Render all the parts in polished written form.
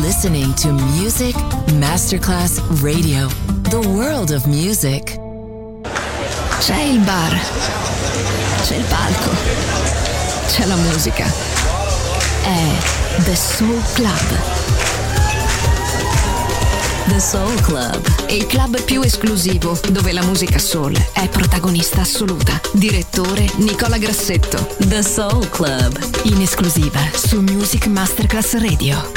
listening to Music Masterclass Radio, the world of music. C'è il bar, c'è il palco, c'è la musica. È The Soul Club. The Soul Club, Il club più esclusivo dove la musica soul è protagonista assoluta. Direttore Nicola Grassetto. The Soul Club, In esclusiva su Music Masterclass Radio.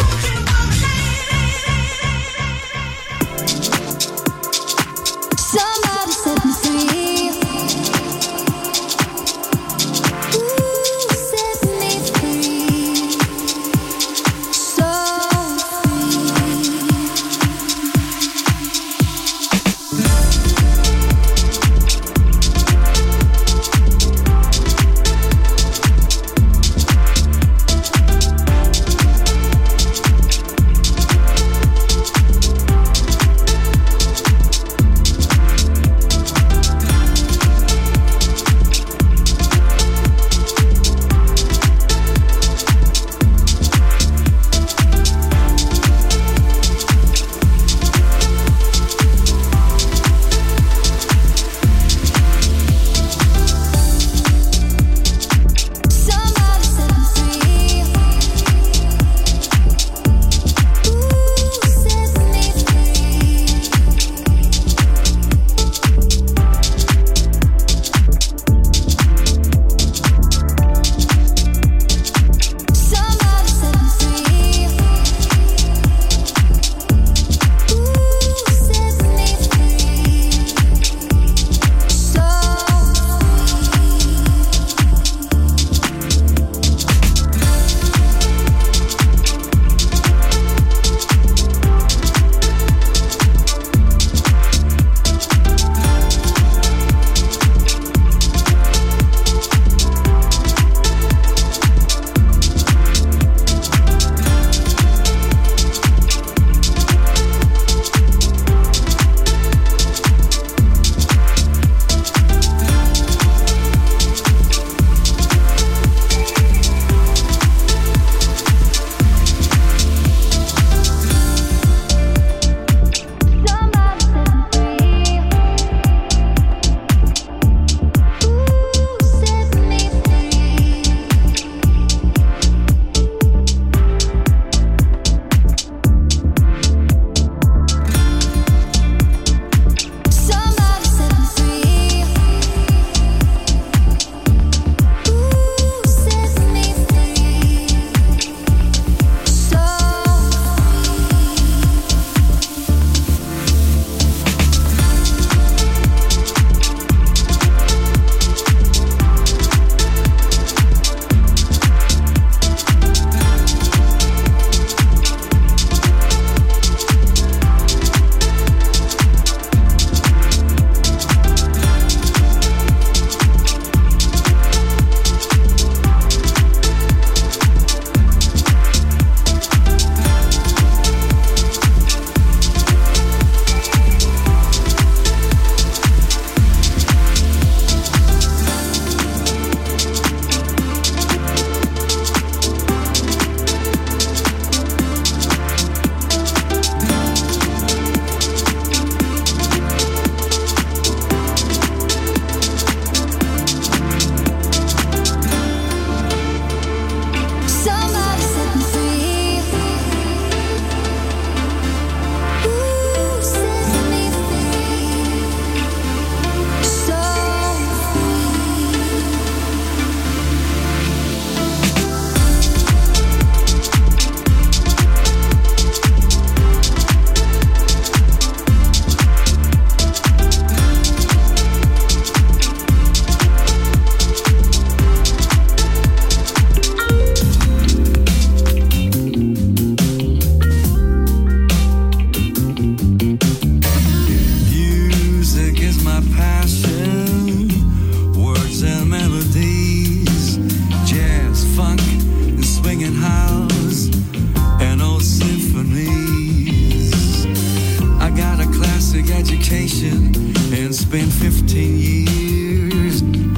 been 15 years,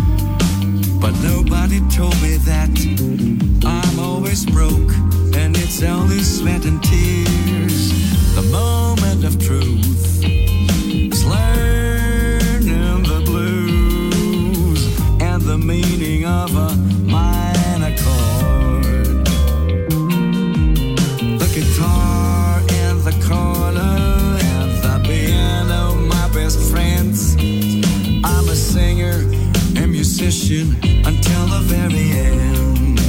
but nobody told me that I'm always broke, and it's only sweat and tears. moment of truth is learning the blues and the meaning of a minor chord. The guitar in the corner and the piano, my best friends. I'm a singer and musician until the very end.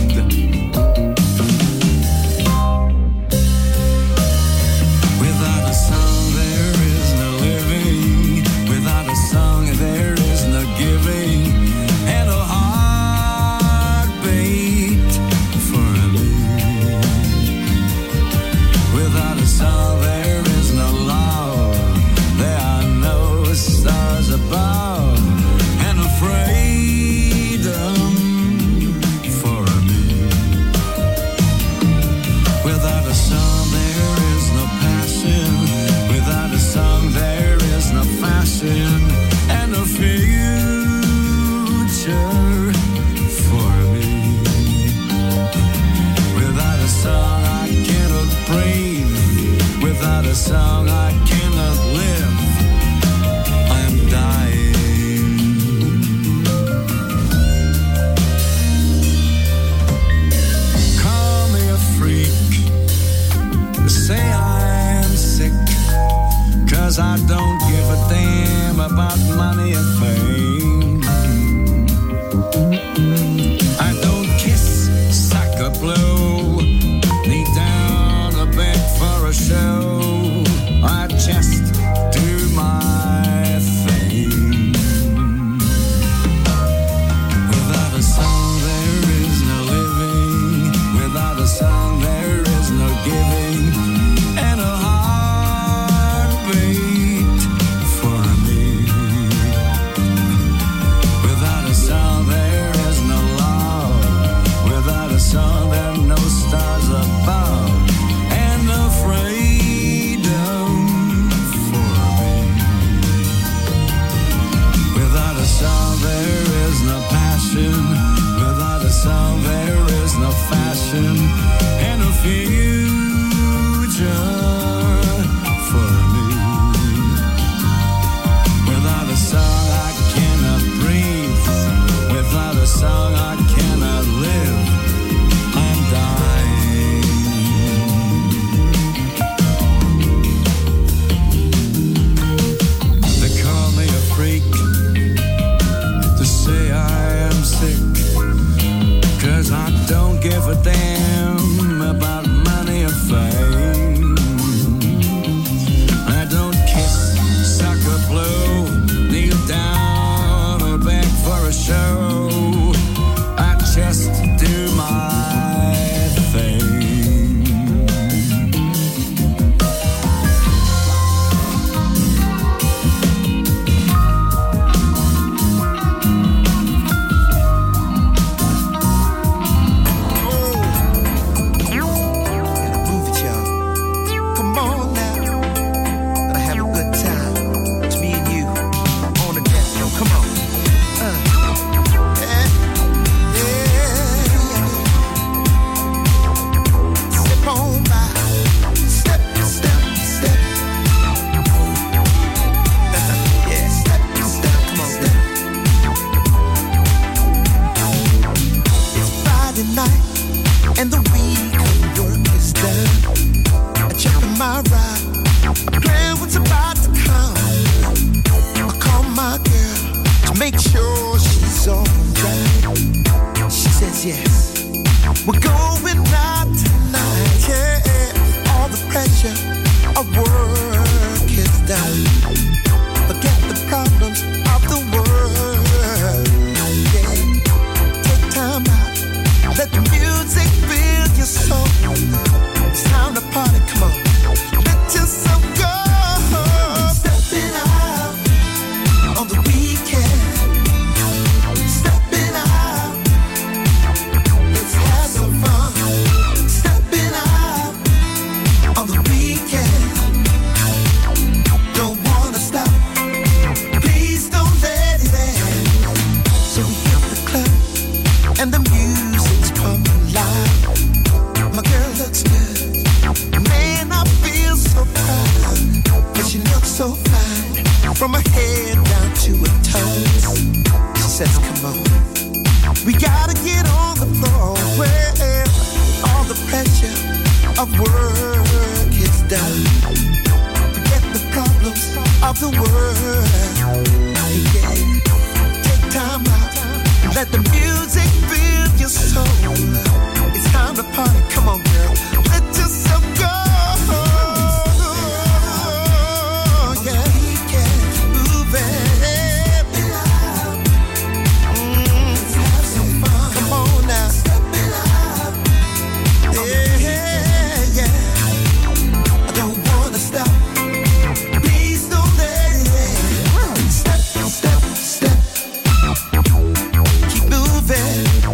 Without a song there is no living. Without a song there is no giving. And a heartbeat for me. Without a song there is no love. There are no stars above. And a freedom for me. Without a song there is no passion. Without a song there is no fashion. And a future for me. Without a song I cannot breathe. Without a song I cannot live. I am dying. Call me a freak. Say I'm sick. 'Cause I don't give a damn about money and fame. I don't kiss, suck or blow. Kneel down or beg for a show. I just do my thing. Without a song there is no living. Without a song there is no giving. And a heartbeat for me. Without a song there is no love. Without a song there are no stars above. And no freedom of work is done. Forget the problems of the world. Yeah. Take time out, let the music fill your soul. It's time to party, come on girl, let yourself go. Yeah, keep moving. Have some fun. Come on now. Step, step, keep moving.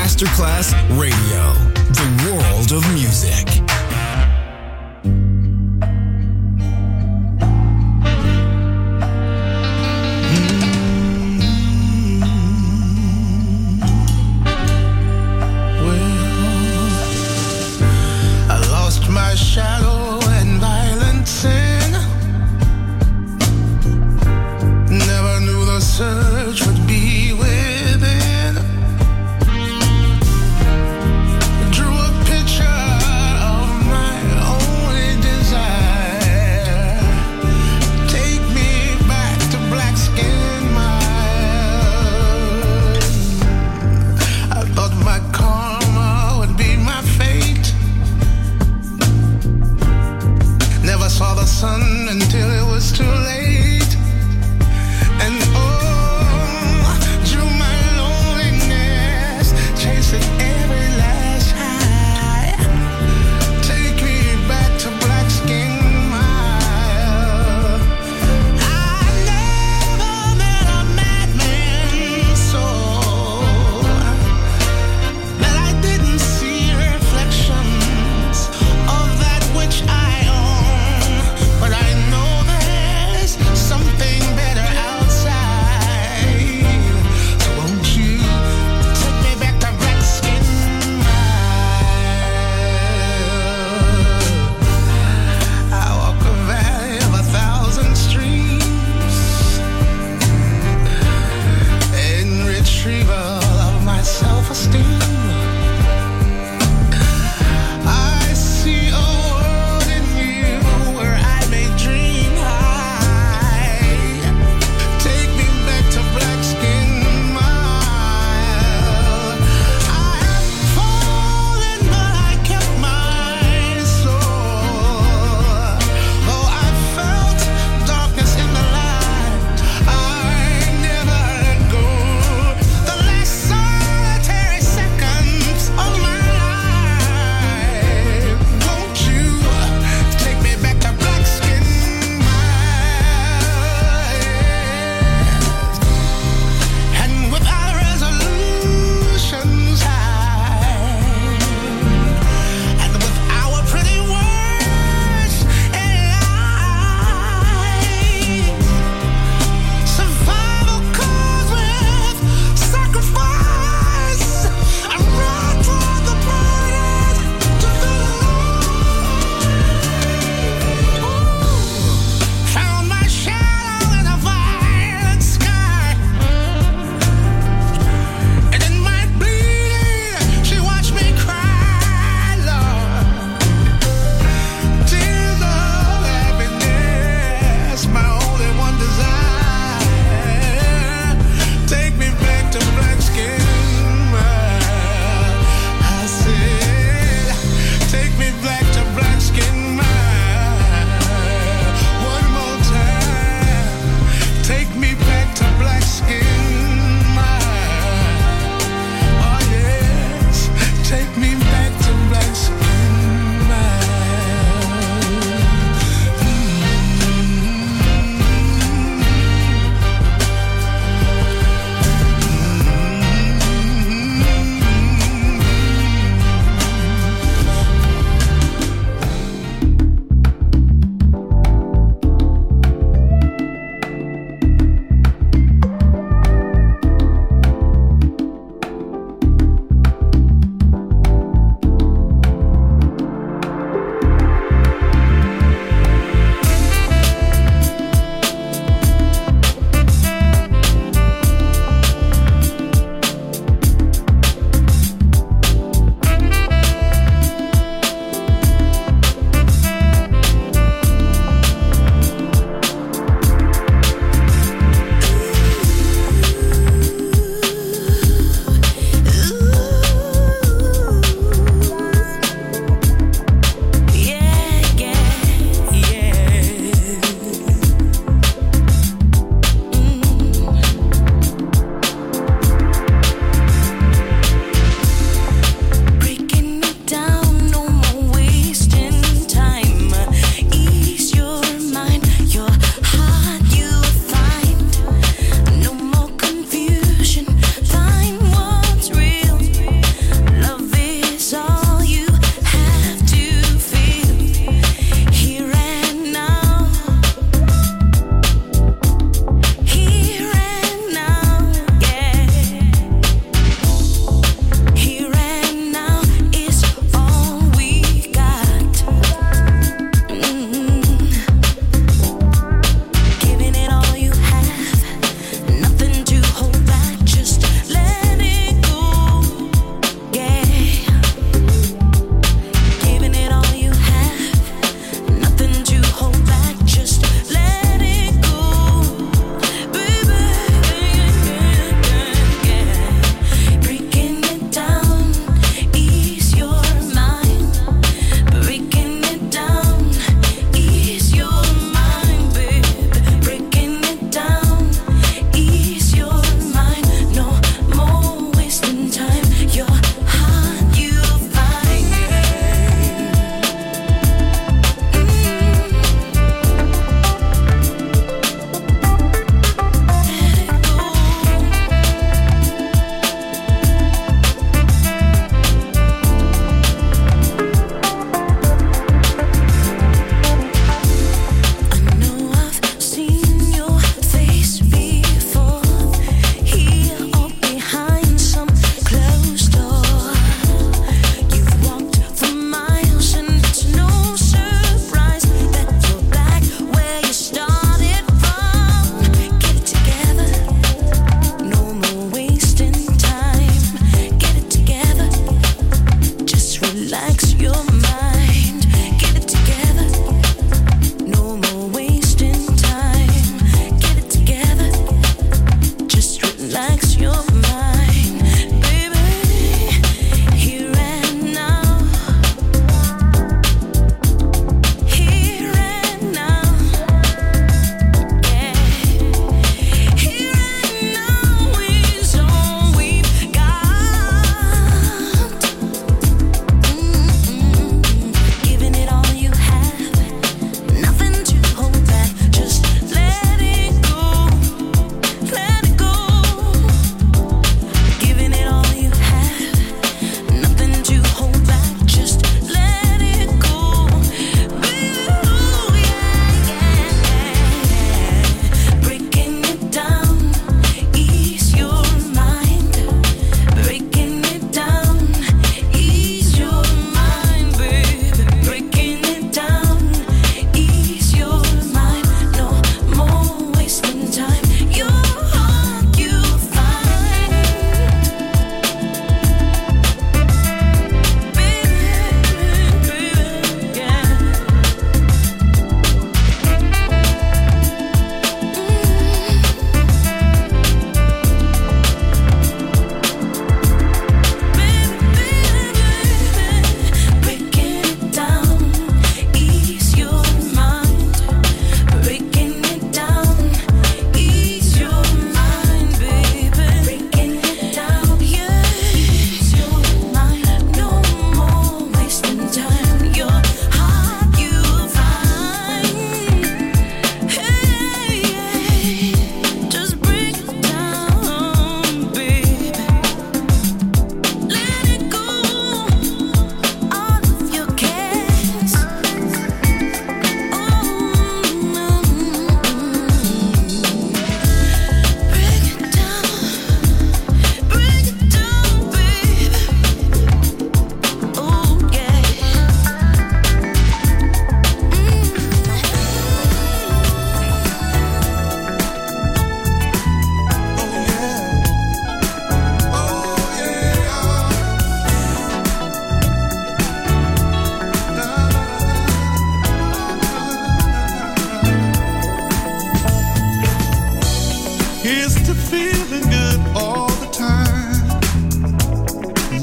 Masterclass Radio, the world of music. My shadow and violent sin. Never knew the search would be within. Drew a picture of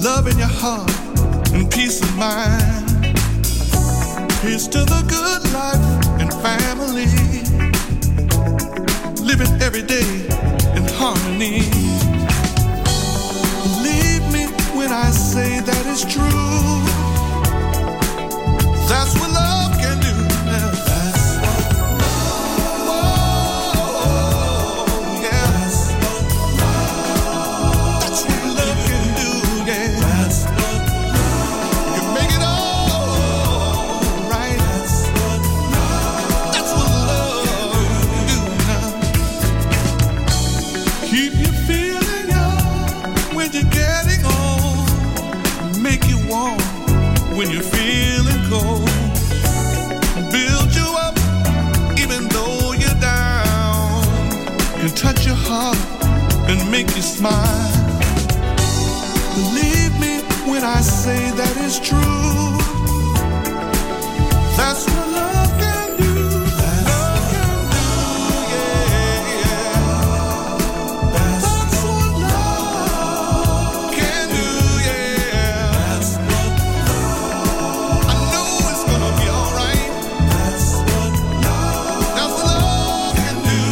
love in your heart and peace of mind. Here's to the good life and family, living every day in harmony. Believe me when I say that it's true. That's what love can do. When you're feeling cold, build you up even though you're down, and touch your heart and make you smile. Believe me when I say that it's true. That's what love can do. Love can do, yeah, yeah. That's what love can do, yeah. That's what I know it's gonna be alright. That's what love can do.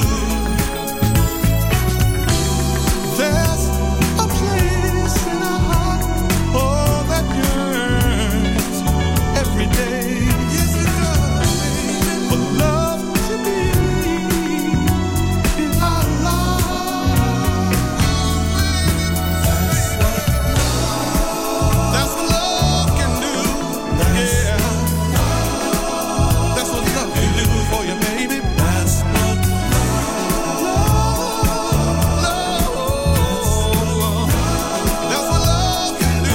There's a place in our heart, oh, that yearns every day. Yes, it does, for love to be in our lives. That's what love can do. Yeah, that's what love can do for you, baby. That's what that's what love can do.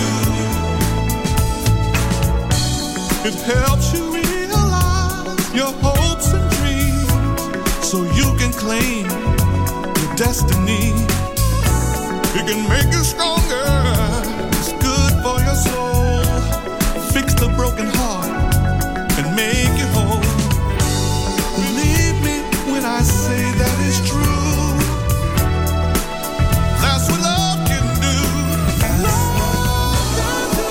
It helps you realize your hopes and dreams, so you can claim your destiny. It can make you stronger. It's good for your soul. Fix the broken heart and make you whole. Believe me when I say that it's true. That's what love can do. Love can do.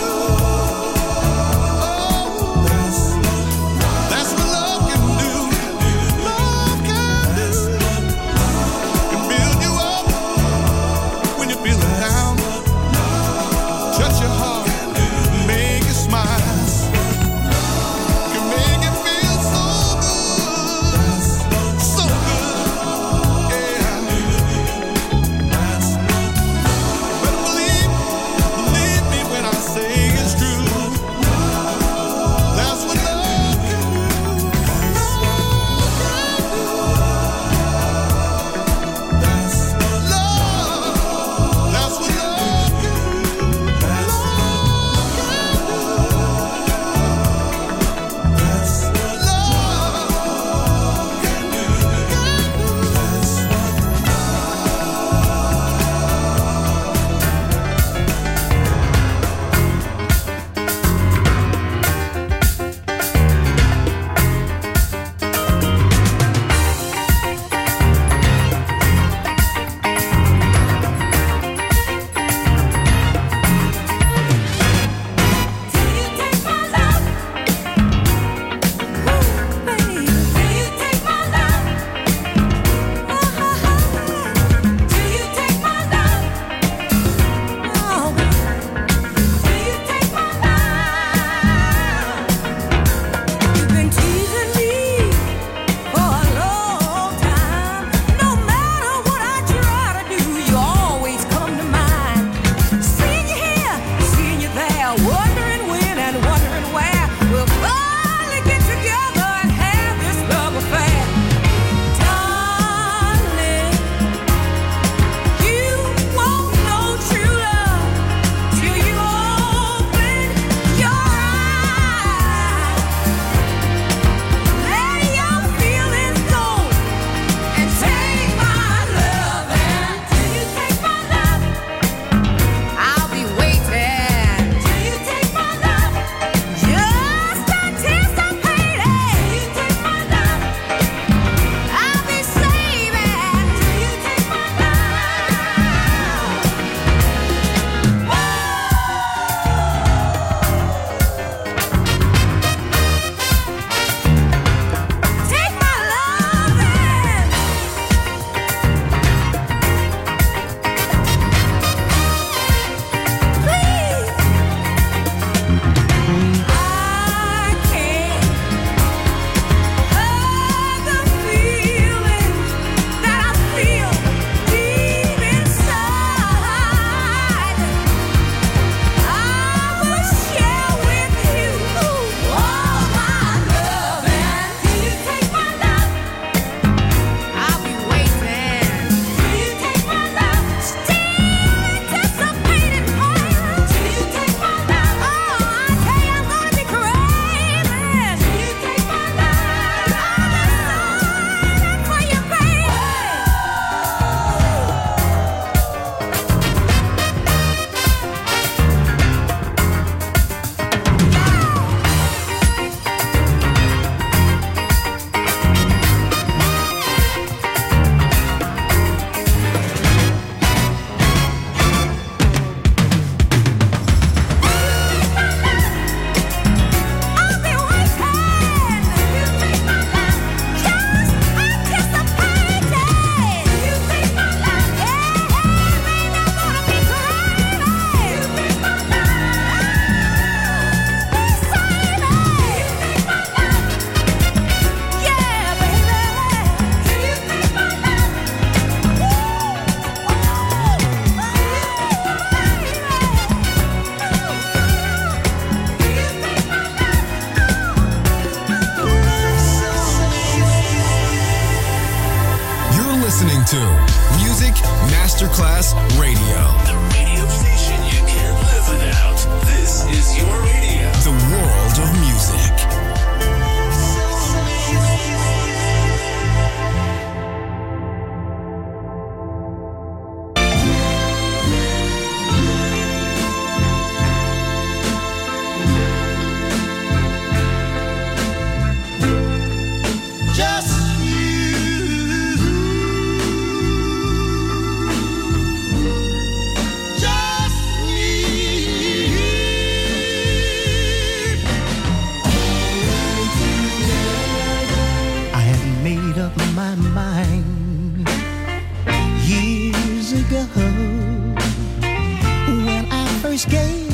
Oh, that's what love can do. Love can do. Can build you up when you're feeling down. Touch your heart, make you smile. Can make it feel so good, so good, yeah. But believe me when I say it's true. That's what love can do. That's what love can do.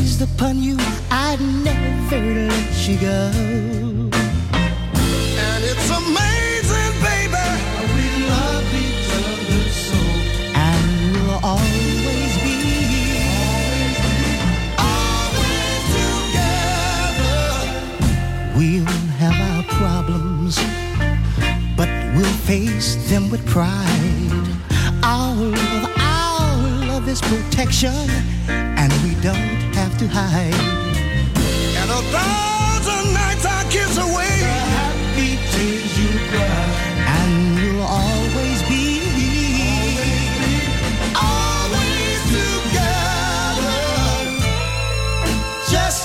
raised upon you, I'd never let you go. And it's amazing, baby, we love each other so. And we'll always be together. We'll have our problems, but we'll face them with pride. Our love is protection, and we don't have to hide. And 1,000 nights I kiss away the happy tears you cry. And you'll always be together. Just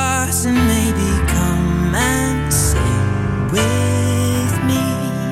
stars and maybe come and sing with me.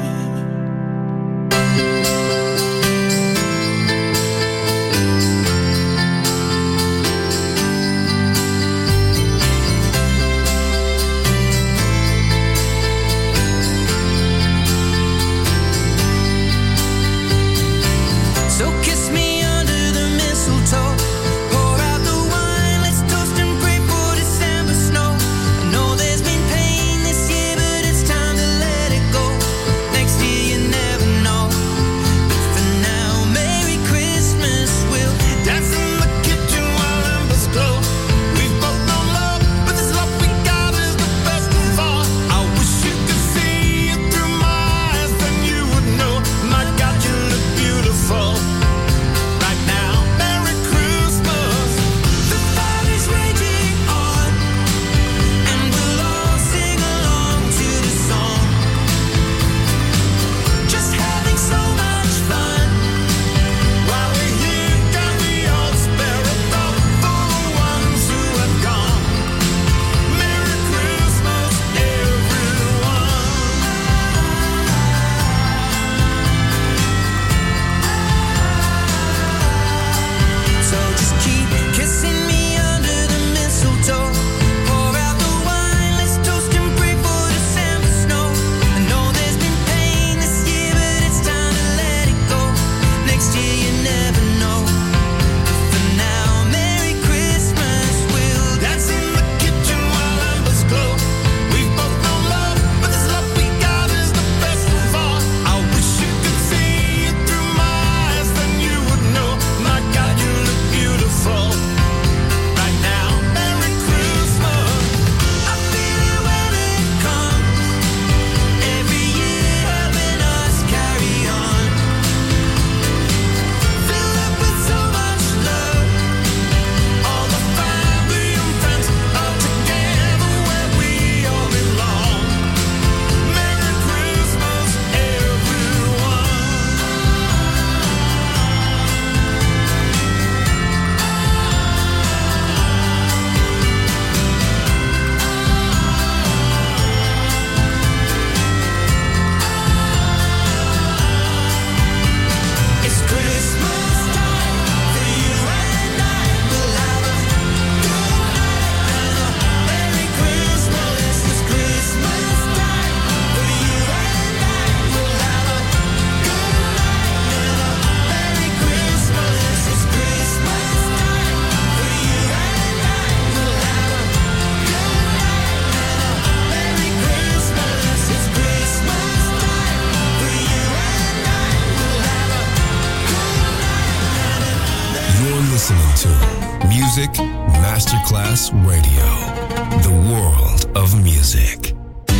So kiss me under the mistletoe. Pour out the wine, let's toast and pray for December snow. I know there's been pain this year, but it's time to let it go. Next year you never know. But for now, Merry Christmas. We'll dance in the kitchen while embers glow. We've both known love, but this love we got is the best of all. I wish you could see it through my eyes, then you would know. My God, you look beautiful. Right now, Merry Christmas. The fire is raging on, and we'll all sing along to the song. Just having so much fun. While we're here, can we all spare a thought for the ones who have gone? Merry Christmas, everyone. So just keep kissing me under the mistletoe. Pour out the wine, let's toast and pray for December snow. I know there's been pain this year, but it's time to let it go. Next year you never know. For now, Merry Christmas. We'll dance in the kitchen while embers glow. We've both known love, but this love we got is the best of all. I wish you could see it through my eyes, then you would know. My God, you look beautiful. Right now, Merry Christmas. I feel it when it comes. Every year helping us carry on. Filled up with so much love. All the family and friends are together where we all belong. Merry Christmas, everyone. It's Christmas time for you and I. We'll have a good night and a Merry Christmas. It's Christmas time for you and I. We'll have a good night and a Merry Christmas. It's Christmas time for you and I. We'll have a good night and a Merry Christmas. It's Christmas time for you and I. We'll have a You're listening to Music Masterclass Radio, the world of music.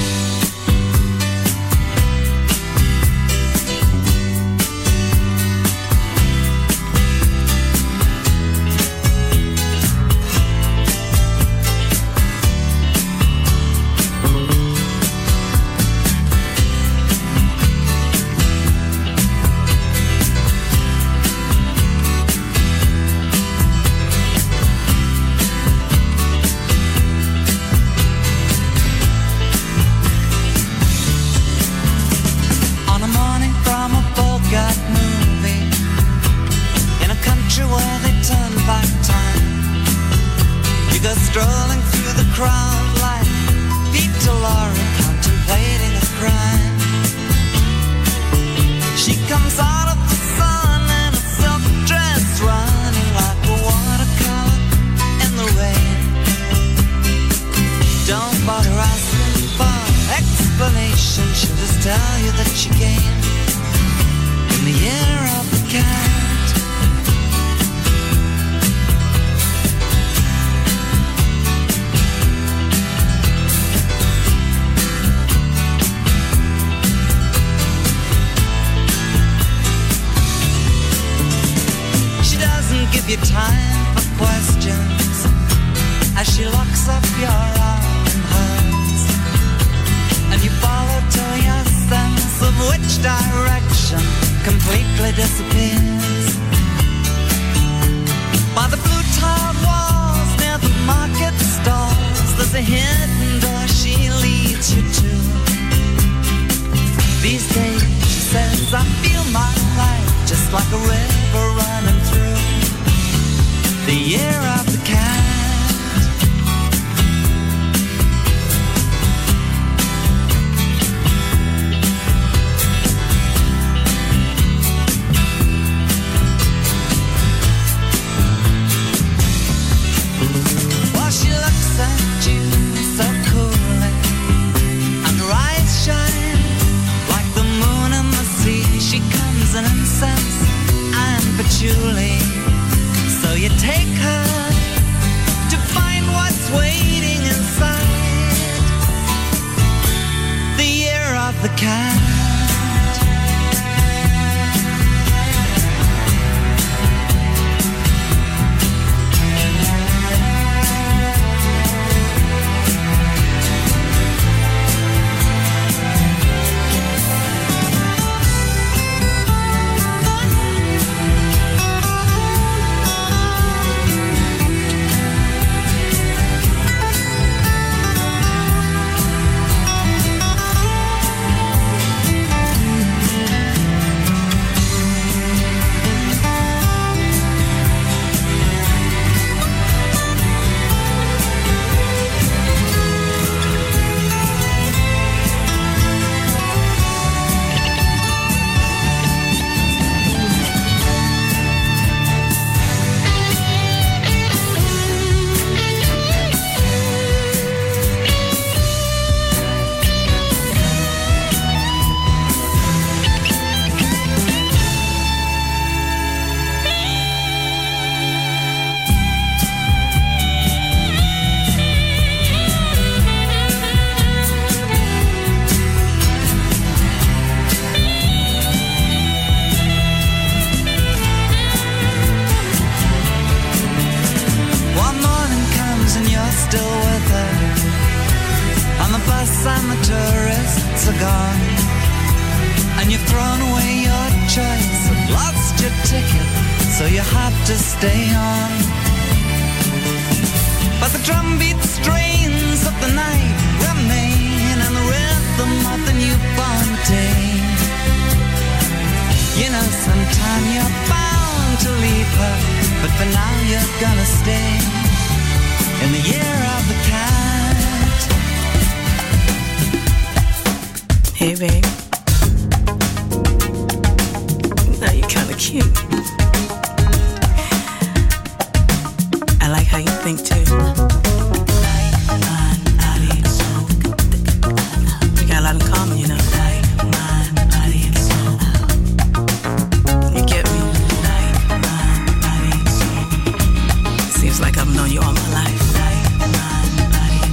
On a morning from a Bogart movie, in a country where they turn back time, you go strolling through the crowd like Peter Lorre contemplating a crime. She comes out of the sun in a silk dress, running like a watercolor in the rain. Don't bother asking for explanation, she'll just tell you that she came in the year of the cat. She doesn't give you time for questions as she locks up your arm in hers, and you follow to your sense of which direction completely disappears. By the blue tiled walls near the market stalls, the a hidden door she leads you to. These days, she says, I feel my life just like a river running through the year of the cat. While she looks at you so coolly, and her eyes shine like the moon and the sea. She comes in incense and patchouli. So you take her to find what's waiting inside the year of the cat. Seems like I've known you all my life. Mind, body,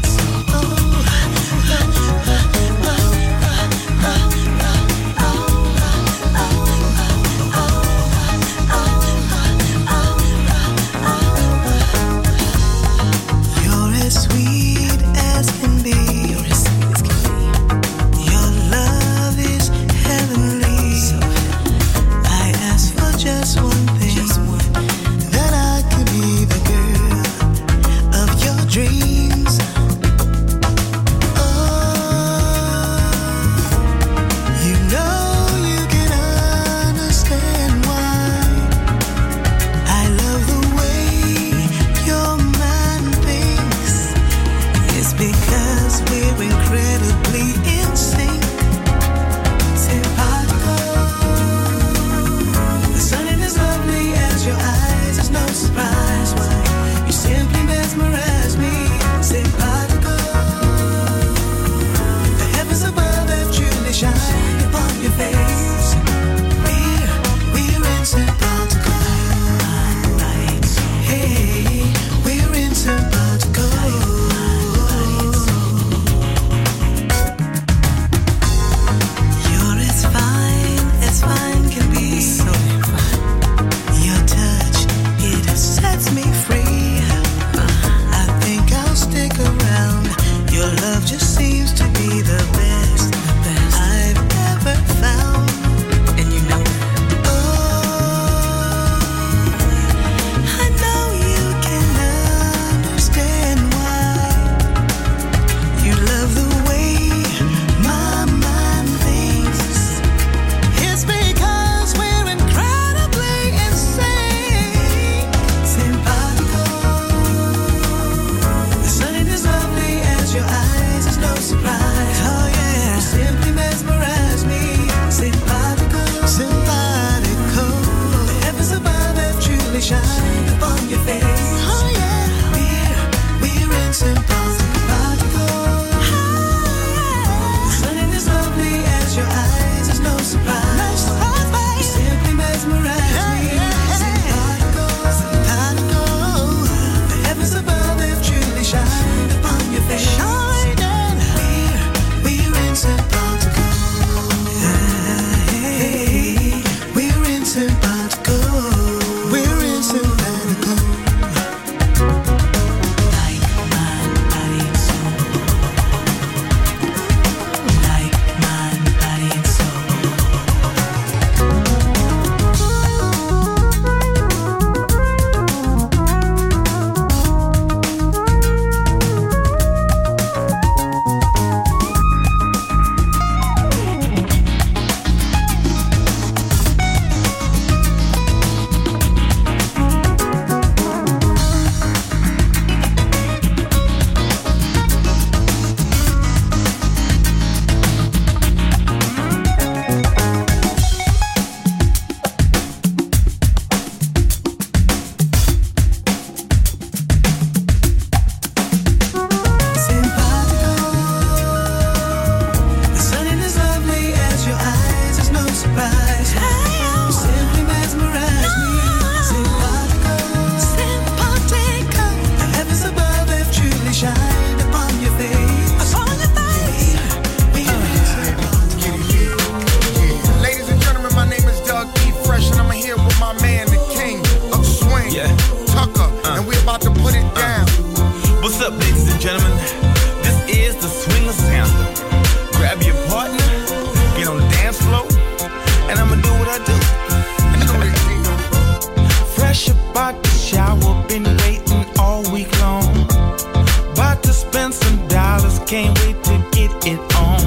can't wait to get it on.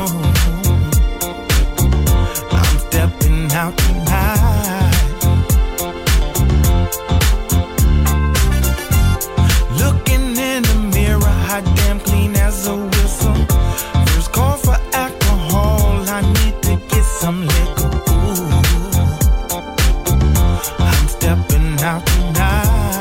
I'm stepping out tonight. Looking in the mirror, hot damn clean as a whistle. First call for alcohol, I need to get some liquor. Ooh, I'm stepping out tonight.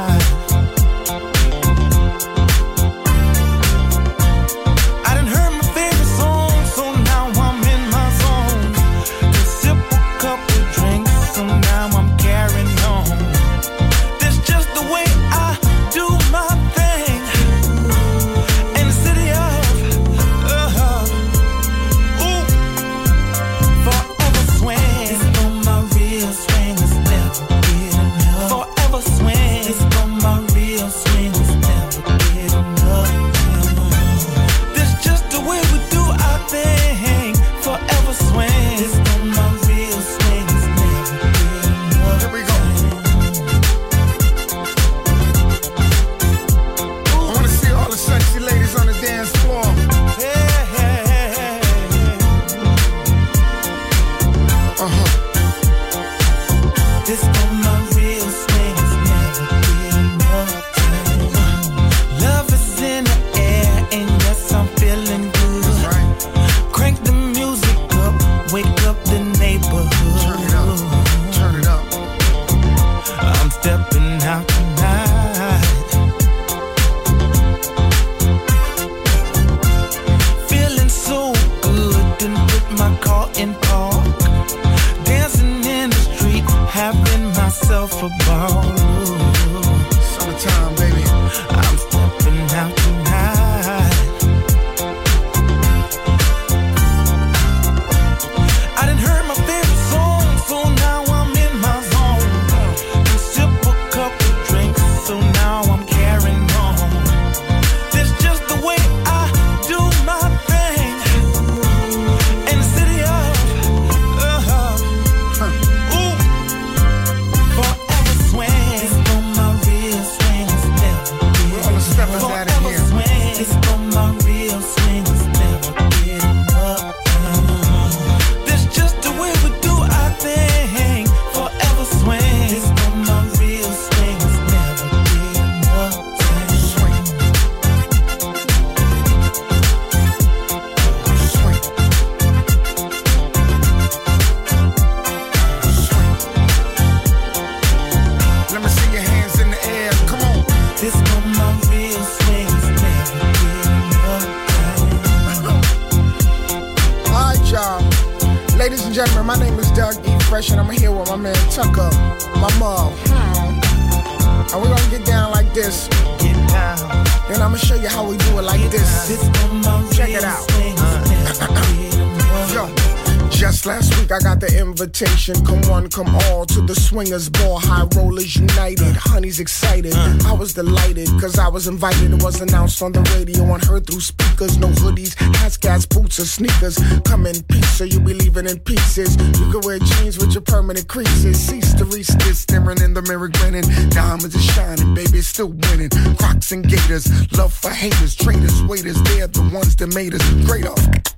Come one, come all to the swingers ball, high rollers united, honey's excited. I was delighted, cause I was invited. It was announced on the radio and heard through speakers. No hoodies, hats, gas, boots, or sneakers. Come in peace, so you'll be leaving in pieces. You can wear jeans with your permanent creases. Cease to reach this, staring in the mirror grinning. Diamonds are shining, baby, it's still winning. Crocs and gators, love for haters, traitors, waiters, they're the ones that made us greater.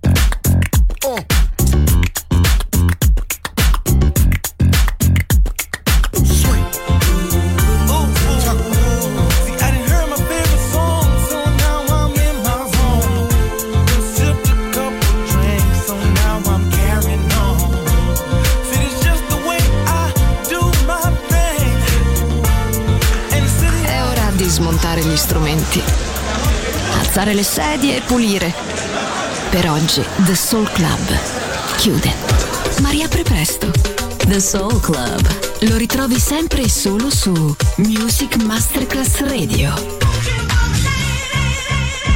Smontare gli strumenti, alzare le sedie e pulire. Per oggi The Soul Club chiude, ma riapre presto. The Soul Club lo ritrovi sempre e solo su Music Masterclass Radio.